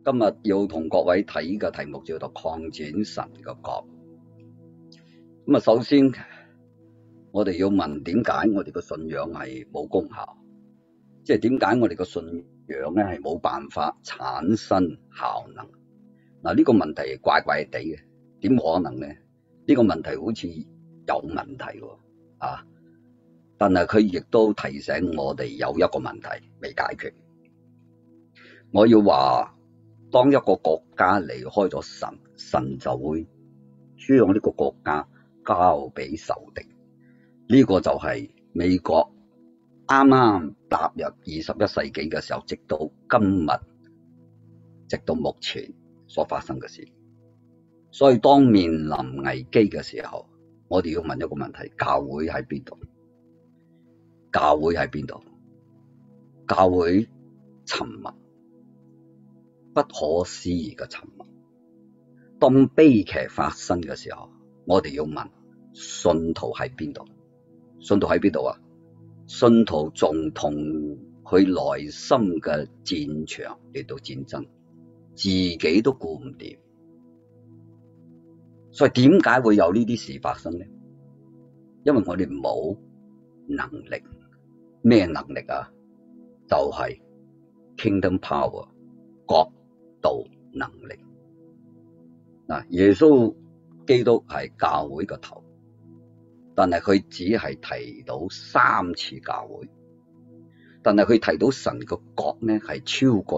今日要同各位睇嘅題目叫做擴展神嘅國。咁首先我哋要問點解我哋嘅信仰係冇功效？即係點解我哋嘅信仰咧係冇辦法產生效能？呢個問題怪怪地嘅，點可能咧？呢個問題好似有問題喎啊！但係佢亦都提醒我哋有一個問題未解決。我要話，當一個國家離開咗神，神就會將呢個國家交俾仇敵。呢個就係美國啱啱踏入21世紀嘅時候，直到今日，直到目前所發生嘅事。所以當面臨危機嘅時候，我哋要問一個問題：教會喺邊度？教會喺邊度？教會沉默，不可思議嘅沉默。當悲劇發生嘅時候，我哋要問：信徒喺邊度？信徒喺邊度啊？信徒仲同佢內心嘅戰場嚟到戰爭，自己都顧唔掂。所以點解會有呢啲事發生呢？因為我哋冇能力。咩能力啊？就係 Kingdom Power， 國度能力。耶穌基督係教會個頭，但係佢只係提到3次教會，但係佢提到神個國呢係超過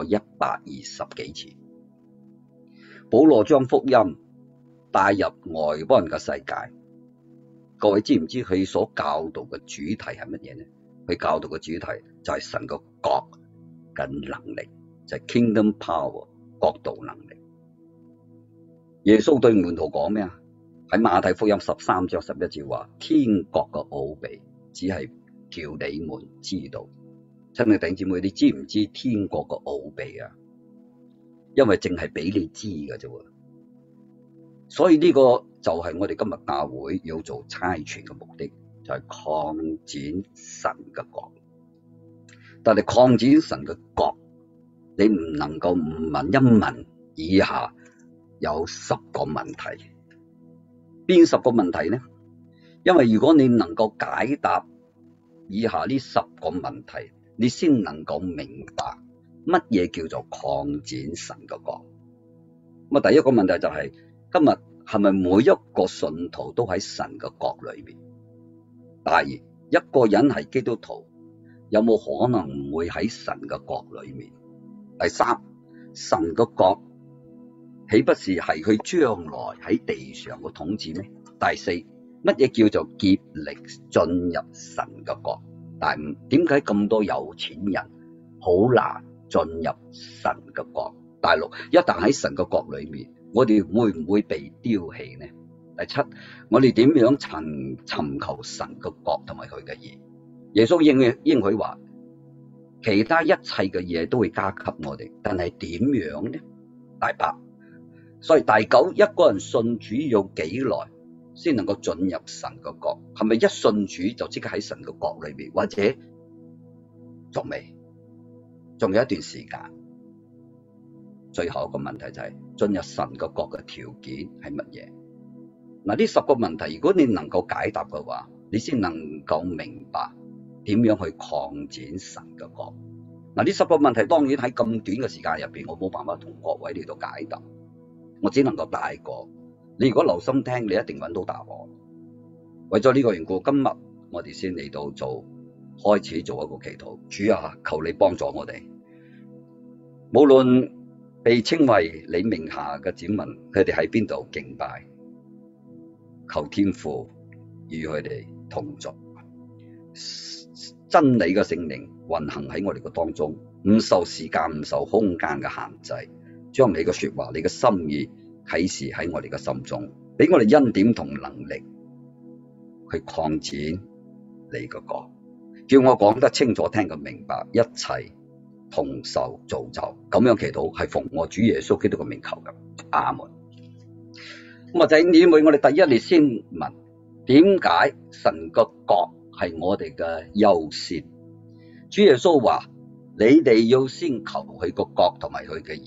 120幾次。保羅將福音帶入外邦人嘅世界，各位知唔知佢所教導嘅主題係乜嘢呢？佢教導嘅主題就係神個國嘅能力，就係 Kingdom Power， 國度能力。耶穌對門徒講咩啊？喺馬太福音13章11節話：天國嘅奧秘只係叫你們知道。親愛弟兄姊妹，你知唔知天國嘅奧秘啊？因為淨係俾你知嘅啫。所以呢個就係我哋今日教會要做差傳嘅目的，就係擴展神嘅國。但係擴展神嘅國，你唔能夠唔問一問以下有10個問題。邊10個問題呢？因為如果你能夠解答以下呢10個問題，你先能夠明白乜嘢叫做擴展神嘅國。咁第一個問題就係，今日係咪每一個信徒都喺神嘅國裏面？第二，一個人係基督徒，有冇可能唔會喺神嘅國裏面？第三，神嘅國豈不是係佢將來喺地上嘅統治咩？第四，乜嘢叫做竭力進入神嘅國？第五，點解咁多有錢人好難進入神嘅國？第六，一旦喺神嘅國裏面，我哋會唔會被丟棄呢？第七，我哋點樣尋求神嘅國同埋佢嘅義？耶穌應許話，其他一切嘅嘢都會加給我哋，但係點樣呢？第八，所以第九，一個人信主要幾耐先能夠進入神嘅國？係咪一信主就即刻喺神嘅國裏面，或者仲未？仲有一段時間。最後一個問題就係進入神嘅國嘅條件係乜嘢？呢10個問題，如果你能夠解答嘅話，你先能夠明白點樣去擴展神嘅國。呢10個問題當然喺咁短嘅時間入邊，我冇辦法同各位嚟到解答，我只能夠帶過。你如果留心聽，你一定揾到答案。為咗呢個緣故，今日我哋先嚟到開始做一個祈禱。主啊，求你幫助我哋，無論被稱為你名下嘅子民，佢哋喺邊度敬拜，求天父與佢哋同在，真理嘅聖靈運行喺我哋嘅當中，唔受時間、唔受空間嘅限制，將你嘅說話、你嘅心意啟示喺我哋嘅心中，俾我哋恩典同能力去擴展你嘅國，叫我講得清楚、聽得明白，一切同受造就。咁樣祈禱係奉我主耶穌基督嘅名求嘅，阿門。咁啊，弟兄姊妹，我哋第一列先問，點解神個國係我哋嘅優先？主耶穌話：你哋要先求佢個國同埋佢嘅義。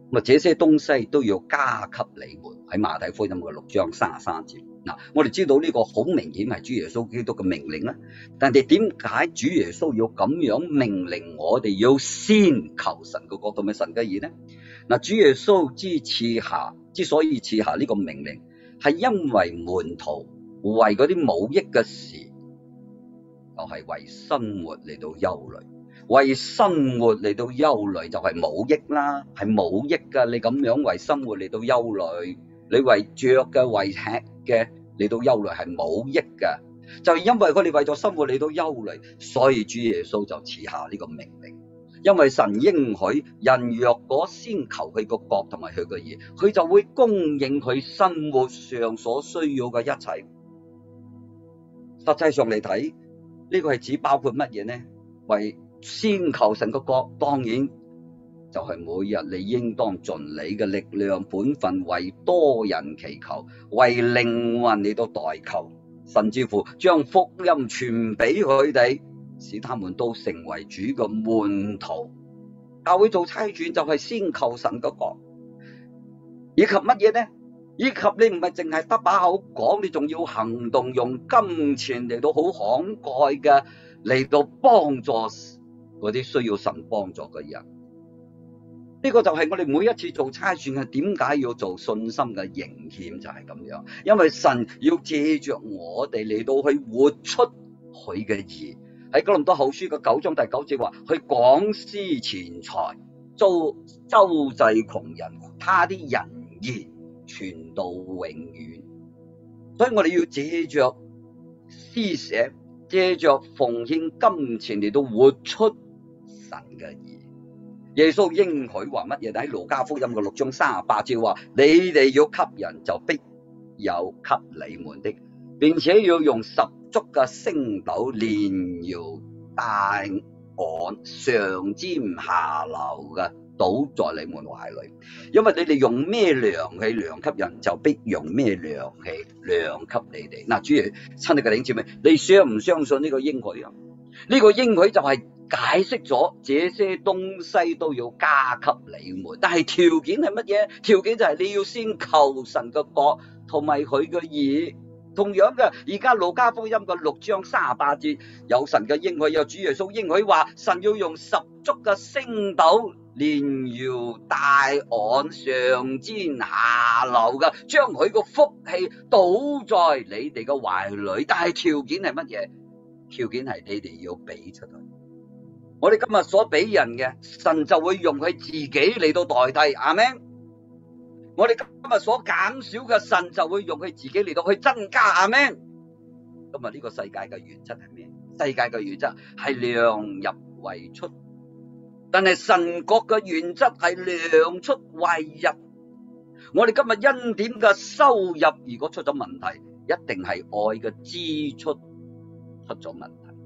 咁啊，這些東西都要加給你們。喺馬太福音嘅6章33節。嗱，我哋知道呢個好明顯係主耶穌基督嘅命令啦。但係點解主耶穌要咁樣命令我哋要先求神嘅國同埋神嘅義呢？嗱，主耶穌之所以賜下呢個命令，係因為門徒為嗰啲冇益嘅事，就係為生活嚟到憂慮。為生活嚟到憂慮就係冇益啦，係冇益㗎。你咁樣為生活嚟到憂慮，你為着嘅、為吃嘅嚟到憂慮係冇益㗎。就係因為佢哋為咗生活嚟到憂慮，所以主耶穌就賜下呢個命令。因為神應許人若果先求佢個國同埋佢個義，佢就會供應佢生活上所需要嘅一切。實際上嚟睇，呢個係指包括乜嘢呢？為先求神個國，當然就係每日你應當盡你嘅力量本分，為多人祈求，為靈魂嚟到代求，甚至乎將福音傳俾佢哋，使他們都成為主嘅門徒。教會做差傳就係先求神個國，以及乜嘢呢？以及你唔係淨係得把口講，你仲要行動，用金錢嚟到好慷慨嘅嚟到幫助嗰啲需要神幫助嘅人。呢個就係我哋每一次做差傳係點解要做信心嘅營獻，就係咁樣。因為神要借着我哋嚟到去活出佢嘅義。喺哥林多後書嘅9章第9節話：去廣施錢財，周濟窮人，他啲仁義傳到永遠。所以我哋要借着施捨，借着奉獻金錢嚟到活出神嘅義。耶穌應許話乜嘢？喺路加福音嘅6章38節話：你哋要給人，就必有給你們的，並且要用十足嘅升斗，連搖帶按，上尖下流嘅倒在你們懷裏。因為你哋用咩量器量給人，就必用咩量器量給你哋。嗱，主要親愛嘅弟兄姊妹，你相唔相信呢個應許啊？呢個應許就係解釋咗這些東西都要加給你們，但係條件係乜嘢？條件就係你要先求神嘅國同埋佢嘅義。同樣嘅，而家路加福音嘅6章38節有神嘅應許，有主耶穌應許話，神要用十足嘅升斗，連搖帶按，上尖下流嘅，將佢個福氣倒在你哋嘅懷裏。但係條件係乜嘢？條件係你哋要俾出去。我哋今日所俾人嘅，神就會用佢自己嚟到代替。阿們。我哋今日所減少嘅，神就會用佢自己嚟到去增加。阿們。今日呢個世界嘅原則係咩？世界嘅原則係量入為出，但係神國嘅原則係量出為入。我哋今日恩典嘅收入如果出咗問題，一定係愛嘅支出出咗問題。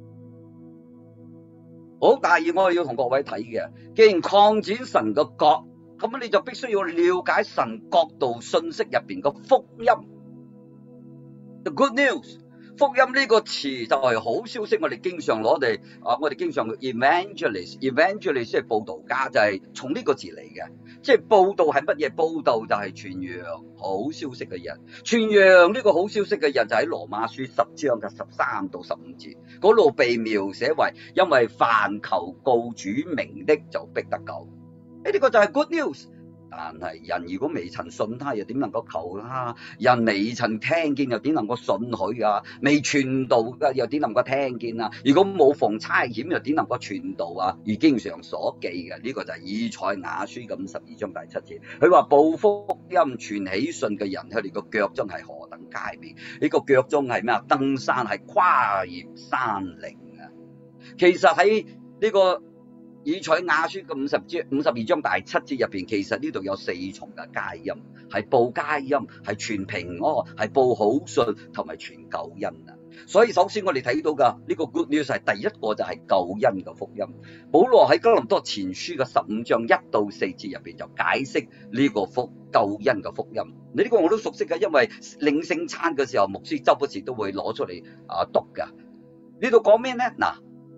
好，第二我哋要同各位睇嘅，既然擴展神嘅國，咁你就必須要了解神國度信息入邊嘅福音。The good news， 福音呢個詞就係好消息，我哋經常攞嚟我哋經常 evangelist 係佈道家，就係從呢個字嚟嘅。即係佈道係乜嘢？佈道就係傳揚好消息嘅人。傳揚呢個好消息嘅人就喺羅馬書10章嘅13到15節嗰度被描寫為，因為凡求告主名的就必得救。呢個就係 good news。但係人如果未曾信他，又點能夠求他？人未曾聽見，又點能夠信佢啊？未傳道嘅，又點能夠聽見啊？如果冇逢差遣，又點能夠傳道啊？如經上所記嘅，呢個就係以賽亞書嘅52章第7節。佢話報福音傳喜信嘅人，佢哋個腳蹤係何等佳美？呢個腳蹤係咩啊？登山係跨越山嶺啊！其實喺呢個以賽亞書嘅52章第7節入邊，其實呢度有4重嘅佳音，係報佳音，係傳平安，係報好信，同埋傳救恩啊！所以首先我哋睇到嘅呢個 good news 係第一個就係救恩嘅福音。保羅喺哥林多前書嘅15章1到4節入邊就解釋呢個救恩嘅福音。你呢個我都熟悉嘅，因為領聖餐嘅時候，牧師周不時都會攞出嚟讀噶。呢度講咩呢？嗱，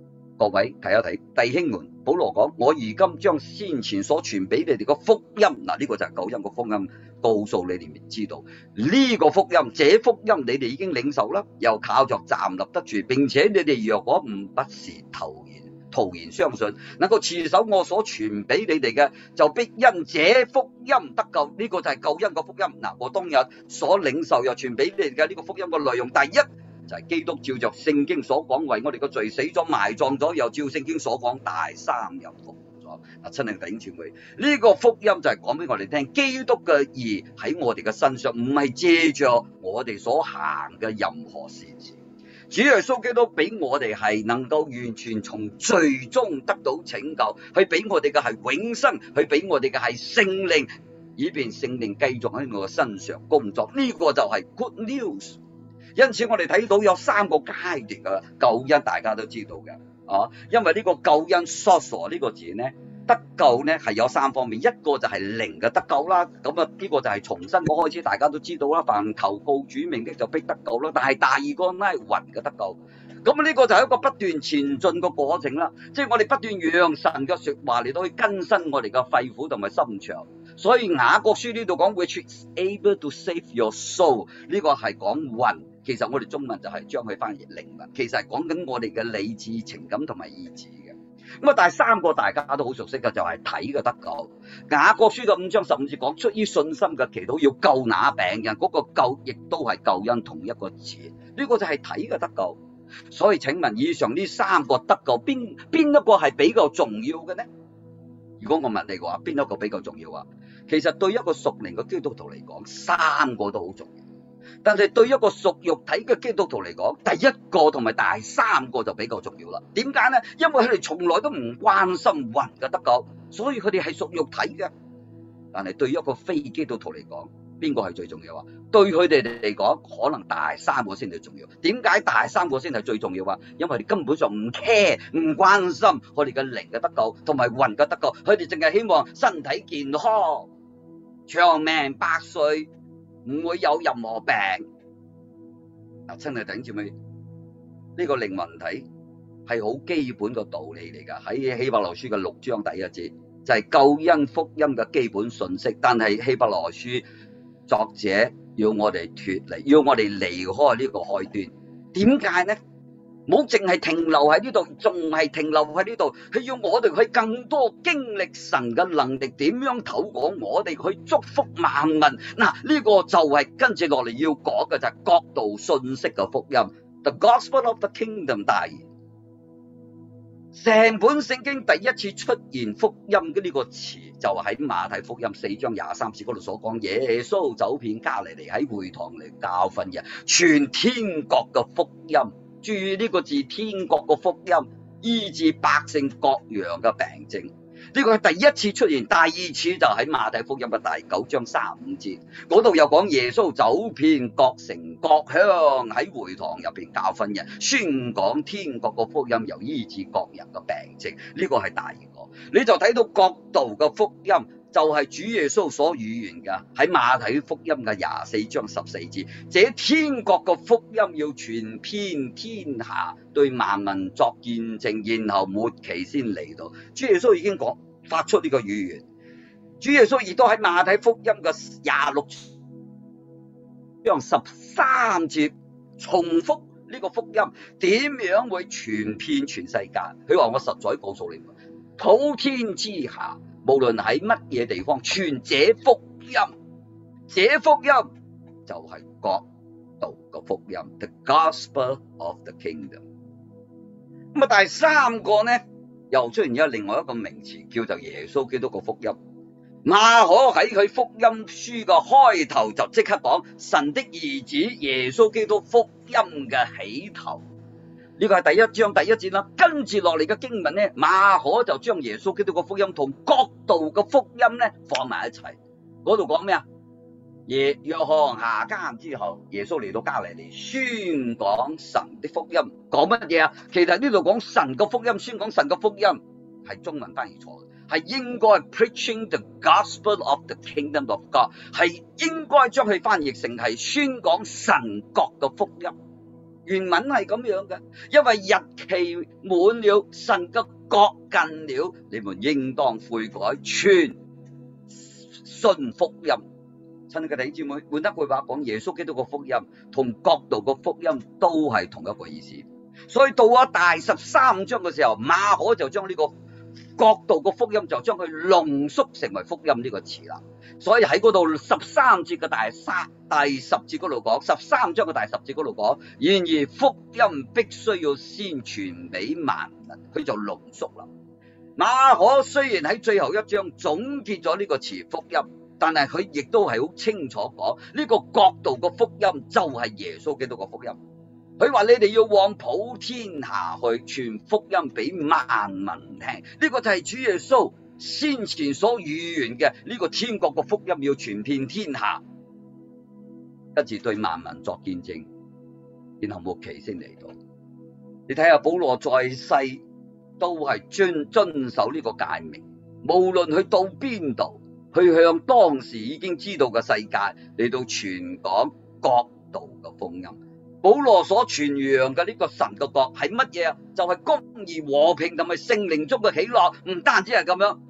各位睇一睇，弟兄們，保羅講：我如今將先前所傳俾你哋嘅福音，嗱呢個就係救恩嘅福音，告訴你哋知道呢個福音，這福音你哋已經領受啦，又靠着站立得住，並且你哋若果不是徒然相信，能夠持守我所傳俾你哋嘅，就必因這福音得救。呢個就係救恩嘅福音。嗱，我當日所領受又傳俾你哋嘅呢個福音嘅內容，第一就係基督照着聖經所講，為我哋嘅罪死咗埋葬咗，又照聖經所講大三日復活咗。嗱，親愛嘅弟兄姊妹，呢個福音就係講俾我哋聽，基督嘅義喺我哋嘅身上，唔係借着我哋所行嘅任何善事。主耶穌基督俾我哋係能夠完全從罪中得到拯救，佢俾我哋嘅係永生，佢俾我哋嘅係聖靈，以便聖靈繼續喺我嘅身上工作。呢個就係 good news。因此我哋睇到有3個階段嘅救恩，大家都知道嘅因為呢個救恩 sozo 呢個字呢，得救呢係有3方面，一個就係靈嘅得救啦，咁啊呢個就係從新約開始大家都知道啦，凡求告主名的就必得救啦。但係第二個呢係魂嘅得救，咁呢個就係一個不斷前進嘅過程啦，即係我哋不斷讓神嘅說話嚟到去更新我哋嘅肺腑同埋心腸。所以雅各書呢度講 which is able to save your soul， 呢個係講魂，其實我哋中文就係將佢翻譯靈魂，其實係講緊我哋嘅理智、情感同埋意志嘅。咁啊，第3個大家都好熟悉嘅就係體嘅得救。雅各書嘅5章15節講，出於信心嘅祈禱要救那病人，嗰個救亦都係救恩同一個字，呢個就係體嘅得救。所以請問以上呢3個得救邊一個係比較重要嘅呢？如果我問你嘅話，邊一個比較重要啊？其實對一個屬靈嘅基督徒嚟講，3個都好重要。但係對一個屬肉體嘅基督徒嚟講，第1個同埋第3個就比較重要啦。點解呢？因為佢哋從來都唔關心魂嘅得救，所以佢哋係屬肉體嘅。但係對一個非基督徒嚟講，邊個係最重要啊？對佢哋嚟講，可能第3個先係重要。點解第3個先係最重要啊？因為佢哋根本上唔 care 唔關心我哋嘅靈嘅得救同埋魂嘅得救，佢哋淨係希望身體健康、長命百歲，唔會有任何病。嗱，親愛弟兄姊妹，呢個靈魂體係好基本嘅道理嚟㗎。喺希伯來書嘅6章第1節就係救恩福音嘅基本信息。但係希伯來書作者要我哋脫離，要我哋離開呢個開端。點解呢？冇淨係停留喺呢度，仲係停留喺呢度，佢要我哋去更多經歷神嘅能力，點樣透過我哋去祝福萬民。嗱，呢個就係跟住落嚟要講嘅就係國度信息嘅福音 ，The Gospel of the Kingdom 大言。成本聖經第一次出現福音嘅呢個詞，就喺馬太福音4章23節嗰度所講，耶穌走遍加利利，喺會堂嚟教訓人，傳天國嘅福音。注意呢個字，天國嘅福音，醫治百姓各樣嘅病症。呢個係第一次出現，第二次就喺馬太福音嘅第9章35節嗰度又講耶穌走遍各城各鄉，喺會堂入邊教訓人，宣講天國嘅福音，又醫治各人嘅病症。呢個係第二個，你就睇到國度嘅福音就係主耶穌所預言嘅，喺馬太福音嘅24章14節，這天國嘅福音要傳遍天下，對萬民作見證，然後末期先嚟到。主耶穌已經發出呢個預言，主耶穌亦都喺馬太福音嘅26章13節重複呢個福音點樣會傳遍全世界。佢話：我實在告訴你們，普天之下，無論喺乜嘢地方傳這福音，這福音就係國度嘅福音 ，The Gospel of the Kingdom。咁啊，第3個呢，又出現咗另外一個名詞，叫做耶穌基督嘅福音。馬可喺佢福音書嘅開頭就即刻講神的兒子耶穌基督福音嘅起頭。呢個係第1章第1節啦，跟住落嚟嘅經文呢，馬可就將耶穌基督嘅福音同國度嘅福音呢放埋一齊。嗰度講咩啊？約翰下監之後，耶穌嚟到加利利宣講神的福音，講乜嘢啊？其實呢度講神嘅福音，宣講神嘅福音係中文翻譯錯嘅，係應該 preaching the gospel of the kingdom of God， 係應該將佢翻譯成係宣講神國嘅福音。 原文係咁樣嘅，因為日期滿了，神嘅國近了，你們應當悔改，傳信福音。親愛嘅弟兄姊妹，換一句話講，耶穌基督嘅福音同國度嘅福音都係同一個意思。所以到咗第13章嘅時候，馬可就將呢個國度嘅福音就將佢濃縮成為福音呢個詞啦。所以喺嗰度13節嘅第10節嗰度講，13章嘅第10節嗰度講，然而福音必須要先傳俾萬民，佢就濃縮啦。馬可雖然喺最後一章總結咗呢個詞福音，但係佢亦都係好清楚講呢個國度嘅福音就係耶穌基督嘅福音。佢話你哋要往普天下去傳福音俾萬民聽，呢個就係主耶穌先前所預言嘅呢個天國嘅福音要傳遍天下，跟住對萬民作見證，然後末期先嚟到。你睇下保羅在世都係遵守呢個誡命，無論去到邊度，去向當時已經知道嘅世界嚟到傳講國度嘅福音。保羅所傳揚嘅呢個神嘅國係乜嘢啊？就係公義、和平同埋聖靈中嘅喜樂。唔單止係咁樣，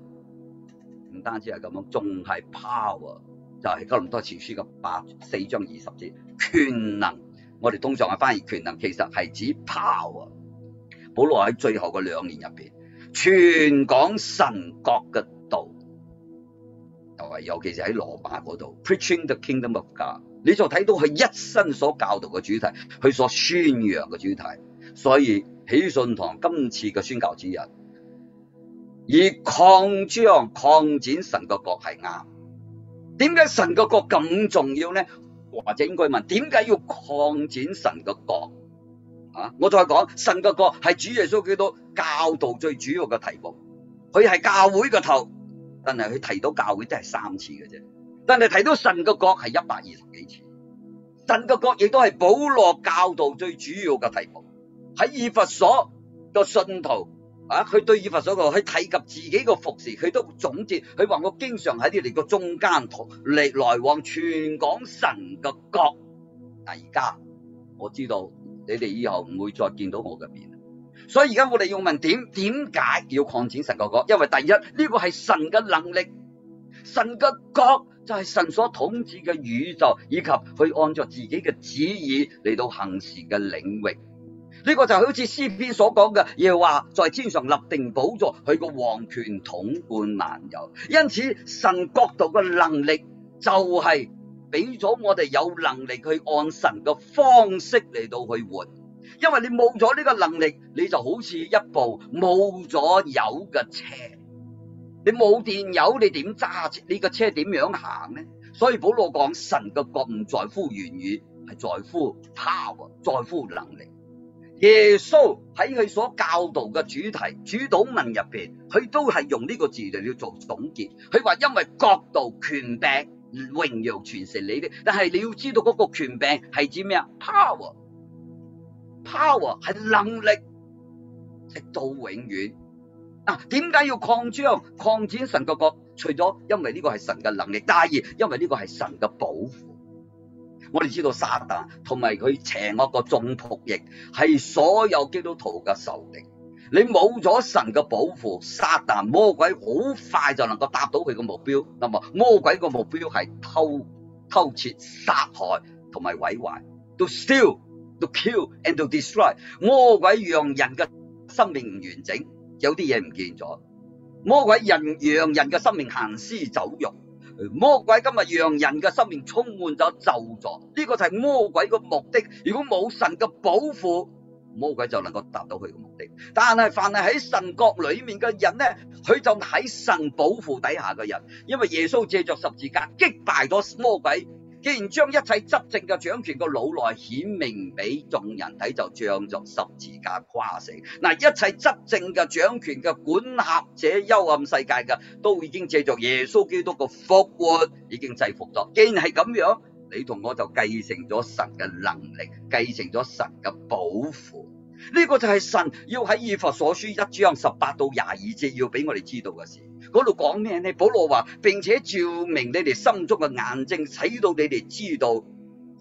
仲係 power， 就係哥林多前書嘅4章20節，權能。我哋通常係翻譯權能，其實係指 power。保羅喺最後嘅2年入邊，傳講神國嘅道，尤其是喺羅馬嗰度 ，preaching the kingdom of God。你就睇到佢一生所教導嘅主題，佢所宣揚嘅主題。所以喜信堂今次嘅宣教指引，以擴展神嘅國係啱。點解神嘅國咁重要呢？或者應該問，點解要擴展神嘅國？我再講，神嘅國係主耶穌基督教導最主要嘅題目，佢係教會嘅頭，但係佢提到教會都係3次嘅啫。但係提到神嘅國係120幾次，神嘅國亦都係保羅教導最主要嘅題目。喺以弗所個信徒佢對以弗所佢提及自己嘅服侍，佢都總結，佢話我經常喺你哋個中間來往傳講神嘅國。而家我知道你哋以後唔會再見到我嘅面，所以而家我哋要問點解要擴展神嘅國？因為第一，呢個係神嘅能力，神嘅國就係神所統治嘅宇宙，以及去按照自己嘅旨意嚟到行事嘅領域。呢個就好似詩篇所講嘅，耶和華在天上立定寶座，佢個王權統貫萬有。因此神國度嘅能力就係俾咗我哋有能力去按神嘅方式嚟到去活。因為你冇咗呢個能力，你就好似一部冇咗油嘅車，你冇電油，你點揸呢個車點樣行呢？所以保羅講神嘅國唔在乎言語，係在乎 power， 在乎能力。耶穌喺佢所教導嘅主題主禱文入邊，佢都係用呢個字嚟做總結。佢話因為國度、權柄、榮耀全是你的，但係你要知道嗰個權柄係指咩啊 ？power 係能力，直到永遠。點解要擴展神嘅國？除咗因為呢個係神嘅能力，第二因為呢個係神嘅保護。我哋知道撒旦同埋佢邪惡嘅眾僕役係所有基督徒嘅仇敵。你冇咗神嘅保護，撒旦魔鬼好快就能夠達到佢嘅目標。那麼魔鬼嘅目標係偷竊、殺害同埋毀壞。To steal, to kill and to destroy。魔鬼讓人嘅生命唔完整，有啲嘢唔見咗。魔鬼讓人嘅生命行屍走肉。魔鬼今日讓人嘅生命充滿咗咒詛，呢個就係魔鬼嘅目的。如果冇神嘅保護，魔鬼就能夠達到佢嘅目的。但係凡係喺神國裏面嘅人呢，佢就喺神保護底下嘅人，因為耶穌借着十字架擊敗咗魔鬼。既然將一切執政嘅掌權嘅腦內顯明俾眾人睇，就仗着十字架誇勝。嗱，一切執政嘅掌權嘅管轄者幽暗世界嘅，都已經借着耶穌基督嘅復活已經制服咗。既然係咁樣，你同我就繼承咗神嘅能力，繼承咗神嘅保護。呢個就係神要喺以弗所書1章18到22節要俾我哋知道嘅事。嗰度講咩呢？保羅話，並且照明你哋心中嘅眼睛，使到你哋知道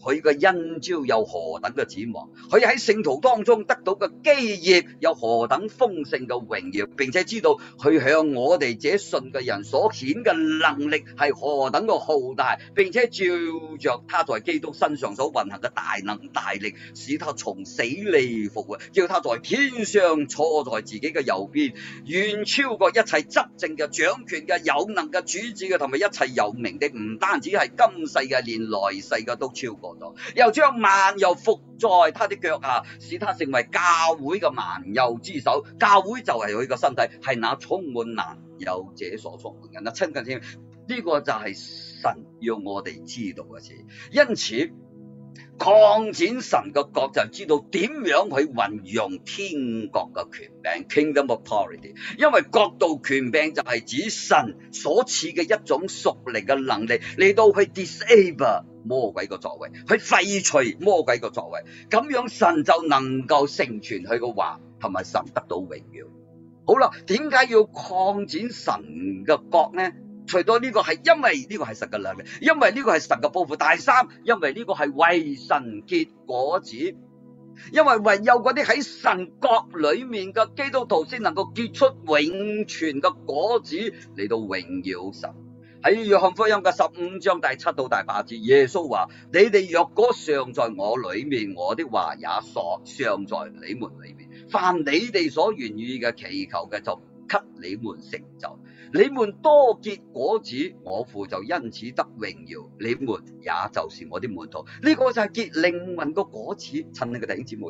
佢嘅恩召有何等嘅指望，佢喺聖徒當中得到嘅基業有何等豐盛嘅榮耀，並且知道佢向我哋這信嘅人所顯嘅能力係何等嘅浩大，並且照着他在基督身上所運行嘅大能大力，使他從死裏復活，叫他在天上坐在自己嘅右邊，遠超過一切執政嘅、掌權嘅、有能嘅、主治嘅同埋一切有名的，唔單止係今世嘅，連來世嘅都超過咗，又將萬有伏在他的腳下，使他成為教會嘅萬有之首。教會就係佢嘅身體，係那充滿萬有者所充滿嘅。親近天，呢個就係神要我哋知道嘅事。因此擴展神嘅國就知道點樣去運用天國嘅權柄 （Kingdom Authority），因為國度權柄就係指神所賜嘅一種屬靈嘅能力，嚟到去 disable 魔鬼嘅作為，去廢除魔鬼嘅作為，咁樣神就能夠成全佢嘅話，同埋神得到榮耀。好啦，點解要擴展神嘅國呢？除咗呢個係因為呢個係神嘅能力，因為呢個係神嘅報復。第三，因為呢個係為神結果子，因為唯有嗰啲喺神國裏面嘅基督徒先能夠結出永存嘅果子嚟到榮耀神。喺約翰福音嘅15章第7到第8節，耶穌話：你哋若果常在我裏面，我的話也常在你們裏面。凡你哋所願意嘅祈求嘅，就給你們成就。你們多結果子，我父就因此得榮耀，你們也就是我的門徒。呢個就係結靈魂個果子。親愛嘅弟兄姊妹，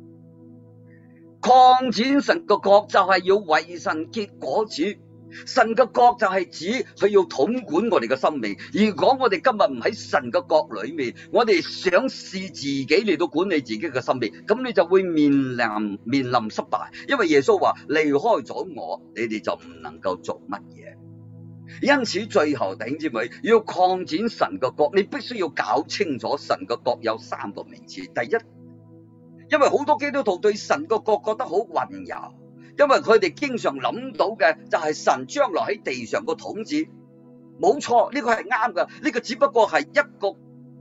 擴展神個國就係要為神結果子。神嘅國就係指佢要統管我哋嘅生命。如果我哋今日唔喺神嘅國裏面，我哋想試自己嚟到管理自己嘅生命，咁你就會面臨失敗。因為耶穌話：離開咗我，你哋就唔能夠做乜嘢。因此最後弟兄姊妹，要擴展神嘅國，你必須要搞清楚神嘅國有3個名詞。第一，因為好多基督徒對神嘅國覺得好混淆。因為佢哋經常諗到嘅就係神將來喺地上個統治，冇錯，呢個係啱㗎。呢個只不過係一個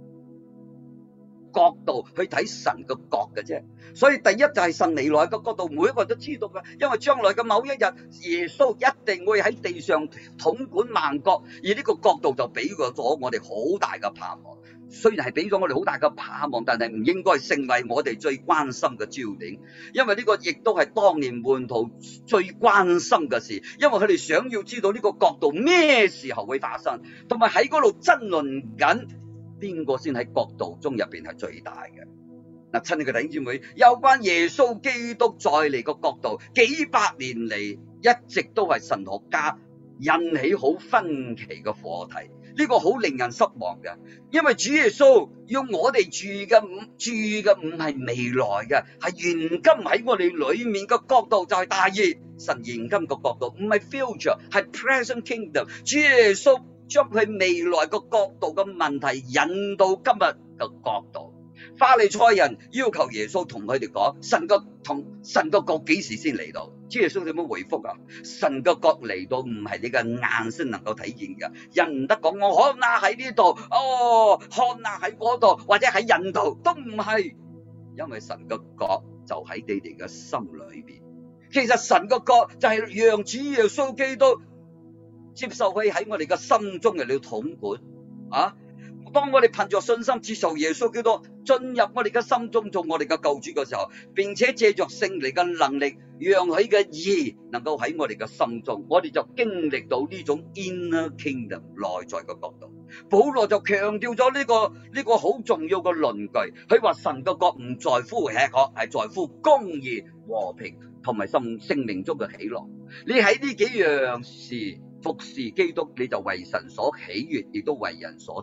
角度去睇神嘅國嘅啫。所以第一就係神未來嘅角度，每一個人都知道㗎。因為將來嘅某一日，耶穌一定會喺地上統管萬國，而呢個角度就俾咗我哋好大嘅盼望。雖然係俾咗我哋好大嘅盼望，但係唔應該成為我哋最關心嘅焦點，因為呢個亦都係當年門徒最關心嘅事，因為佢哋想要知道呢個國度咩時候會發生，同埋喺嗰度爭論緊邊個先喺國度中入邊係最大嘅。嗱，親愛嘅弟兄姊妹，有關耶穌基督再嚟個國度，幾百年嚟一直都係神學家引起好分歧嘅課題。呢個好令人失望嘅，因為主耶穌要我哋住嘅唔係未來嘅，係現今喺我哋裏面嘅國度就係大義。神現今嘅國度唔係 future， 係 present kingdom。主耶穌將佢未來嘅國度嘅問題引到今日嘅國度。法利賽人要求耶穌同佢哋講神嘅國幾時先嚟到？主耶穌點樣回覆啊？神嘅國嚟到唔係你嘅眼先能夠體現嘅，人唔得講我看哪喺呢度，看哪喺嗰度，或者喺印度都唔係，因為神嘅國就喺你哋嘅心裏邊。其實神嘅國就係讓主耶穌基督接受佢喺我哋嘅心中嚟到統管啊！當我哋憑着信心接受耶穌基督進入我哋嘅心中做我哋嘅救主嘅時候，並且借着聖靈嘅能力，讓佢嘅義能夠喺我哋嘅心中，我哋就經歷到呢種 inner kingdom 內在嘅國度。保羅就強調咗呢個好重要嘅論據，佢話神嘅國唔在乎吃喝，係在乎公義、和平同埋生命中嘅喜樂。你喺呢幾樣事服侍基督，你就為神所喜悅，亦都為人所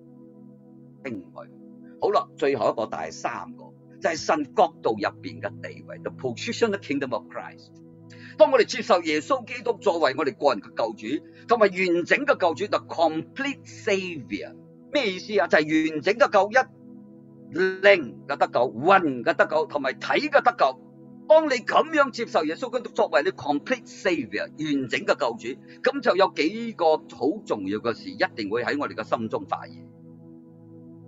好啦，最後一個第3個就係神國度入邊嘅地位 ，the position of the kingdom of Christ。當我哋接受耶穌基督作為我哋個人嘅救主，同埋完整嘅救主 ，the complete Savior， 咩意思啊？就係完整嘅救恩，靈嘅得救，魂嘅得救，同埋體嘅得救。當你咁樣接受耶穌基督作為你 complete Savior， 完整嘅救主，咁就有幾個好重要嘅事，一定會喺我哋嘅心中發現。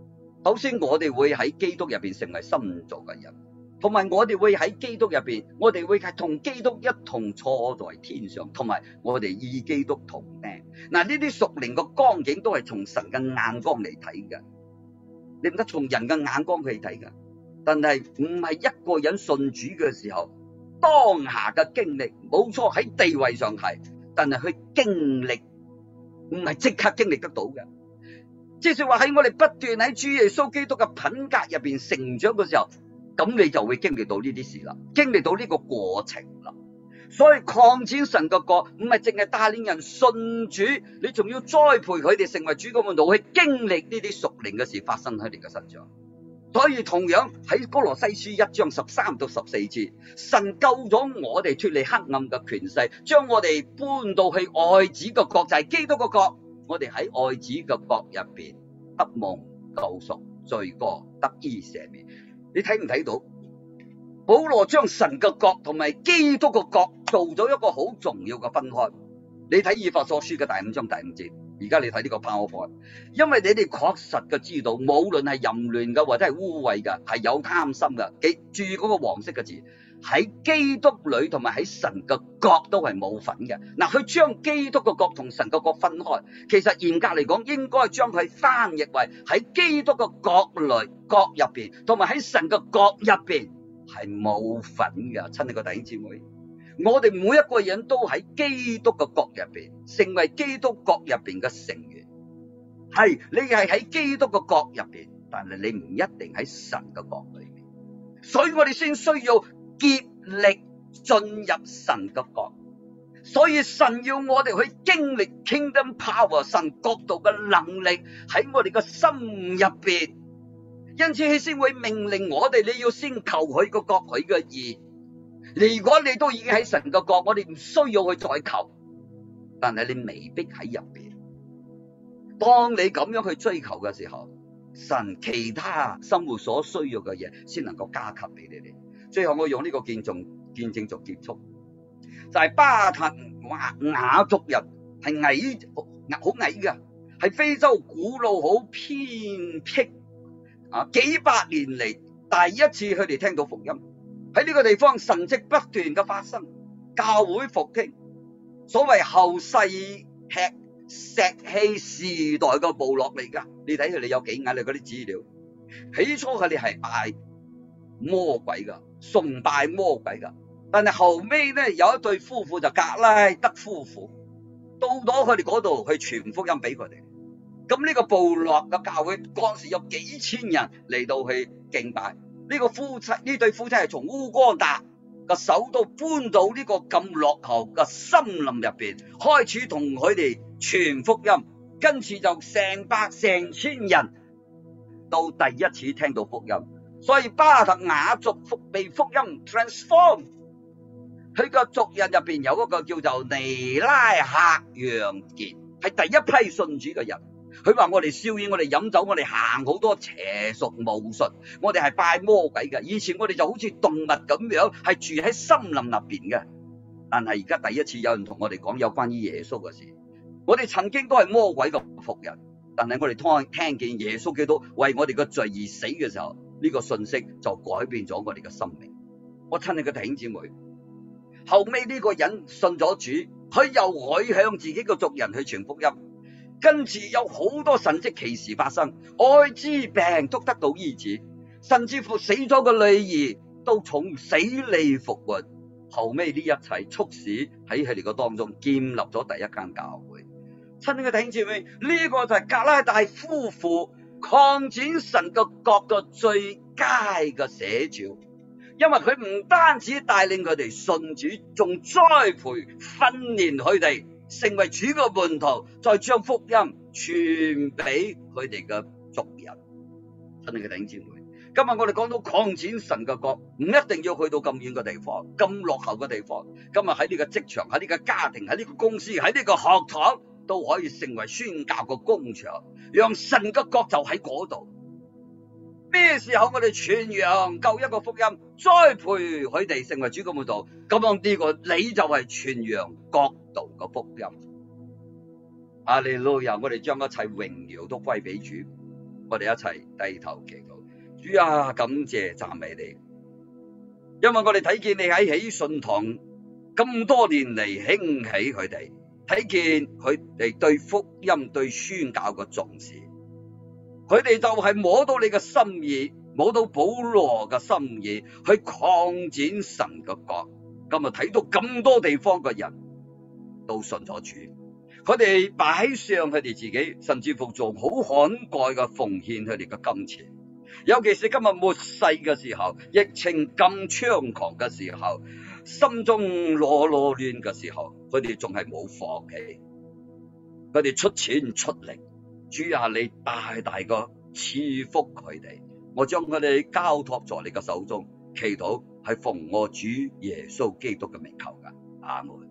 首先我哋會喺基督入邊成為新造嘅人，同埋我哋會喺基督入邊，我哋會同基督一同坐在天上，同埋我哋與基督同釘。嗱，呢啲屬靈嘅光景都係從神嘅眼光嚟睇嘅，你唔得從人嘅眼光去睇嘅。但係唔係一個人信主嘅時候，當下嘅經歷冇錯喺地位上係，但係佢經歷唔係即刻經歷得到嘅。即係話喺我哋不斷喺主耶穌基督嘅品格入邊成長嘅時候，咁你就會經歷到呢啲事啦，經歷到呢個過程啦。所以擴展神嘅國唔係淨係帶領人信主，你仲要栽培佢哋成為主嘅門徒，去經歷呢啲屬靈嘅事發生喺你嘅身上。所以同樣喺哥羅西書1章13到14節，神救咗我哋脫離黑暗嘅權勢，將我哋搬到去愛子嘅國，就係基督嘅國。我哋喺愛子嘅國入邊得蒙救贖，罪過得以赦免。你睇唔睇到？保羅將神嘅國同埋基督嘅國做咗一個好重要嘅分開。你睇以弗所書嘅第5章第5節，而家你睇呢個 PowerPoint，因為你哋確實嘅知道，無論係淫亂嘅或者係污穢嘅，係有貪心嘅，記住嗰個黃色嘅字，喺基督裏同埋喺神嘅國都係冇份嘅。嗱，佢將基督嘅國同神嘅國分開，其實嚴格嚟講，應該將佢翻譯為喺基督嘅國裏國入邊，同埋喺神嘅國入邊係冇份嘅。親愛嘅弟兄姊妹，我哋每一個人都喺基督嘅國入邊，成為基督國入邊嘅成員。係你係喺基督嘅國入邊，但係你唔一定喺神嘅國裏面。所以我哋先需要竭力進入神嘅國。所以神要我哋去經歷 Kingdom Power， 神國度嘅能力喺我哋嘅心入邊。因此佢先會命令我哋，你要先求佢個國，佢嘅義。如果你都已經喺神嘅國，我哋唔需要去再求，但係你未必喺入邊。當你咁樣去追求嘅時候，神其他生活所需要嘅嘢先能夠加給俾你哋。最後我用呢個見證做結束，就係巴特雅族人係好矮嘅，係非洲古老好偏僻幾百年嚟第一次佢哋聽到福音。喺呢個地方神蹟不斷嘅發生，教會復興，所謂後世吃石器時代嘅部落嚟噶。你睇佢哋有幾矮，你嗰啲資料，起初佢哋係拜魔鬼噶，崇拜魔鬼噶，但係後尾咧有一對夫婦就格拉德夫婦到咗佢哋嗰度去傳福音俾佢哋。咁呢個部落嘅教會嗰時有幾千人嚟到去敬拜。呢對夫妻係從烏干達嘅首都搬到呢個咁落後嘅森林入邊，開始同佢哋傳福音，跟住就成千人到第一次聽到福音。所以巴特雅族被福音 transform， 佢個族人入邊有一個叫做尼拉克楊傑，係第一批信主嘅人。佢話我哋燒煙，我哋飲酒，我哋行好多邪術巫術，我哋係拜魔鬼嘅。以前我哋就好似動物咁樣，係住喺森林入邊嘅。但係而家第一次有人同我哋講有關於耶穌嘅事。我哋曾經都係魔鬼嘅僕人，但係我哋聽見耶穌基督為我哋嘅罪而死嘅時候，呢個信息就改變咗我哋嘅生命。我親愛嘅弟兄姊妹，後尾呢個人信咗主，佢又可以向自己嘅族人去傳福音。跟住有好多神蹟奇事發生，愛滋病都得到醫治，甚至乎死咗嘅女兒都從死裏復活。後尾呢一切促使喺佢哋嘅當中建立咗第一間教會。親愛嘅弟兄姊妹，呢個就係格拉大夫婦擴展神嘅國嘅最佳嘅寫照，因為佢唔單止帶領佢哋信主，仲栽培訓練佢哋成為主嘅門徒，再將福音傳俾佢哋嘅族人。親愛嘅弟兄姊妹，今日我哋講到擴展神嘅國，唔一定要去到咁遠嘅地方，咁落後嘅地方。今日喺呢個職場，喺呢個家庭，喺呢個公司，喺呢個學堂，都可以成為宣教嘅工場，讓神嘅國就喺嗰度。咩時候我哋傳揚救一個福音，栽培佢哋成為主嘅門徒，咁樣呢個你就係傳揚國度嘅福音。哈利路亞！我哋將一切榮耀都歸俾主。 我哋一齊低頭祈禱。主啊，感謝讚美你，因為我哋睇見你喺喜信堂咁多年嚟興起佢哋，睇見佢哋對福音對宣教嘅重視，佢哋就係摸到你嘅心意，摸到保羅嘅心意，去擴展神嘅國。今日睇到咁多地方嘅人都信咗主，佢哋擺上佢哋自己，甚至乎做好慷慨嘅奉獻佢哋嘅金錢。尤其是今日末世嘅時候，疫情咁猖狂嘅時候，心中囉囉攣嘅時候，佢哋仲係冇放棄，佢哋出錢出力。主啊，你大大個賜福佢哋，我將佢哋交託在你嘅手中，祈禱係奉我主耶穌基督嘅名求㗎，阿門。